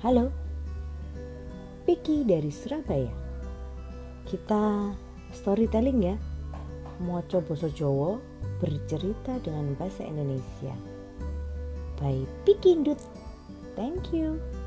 Halo, Piki dari Surabaya. Kita storytelling ya. Moco basa Jawa bercerita dengan bahasa Indonesia. By Piki Ndut. Thank you.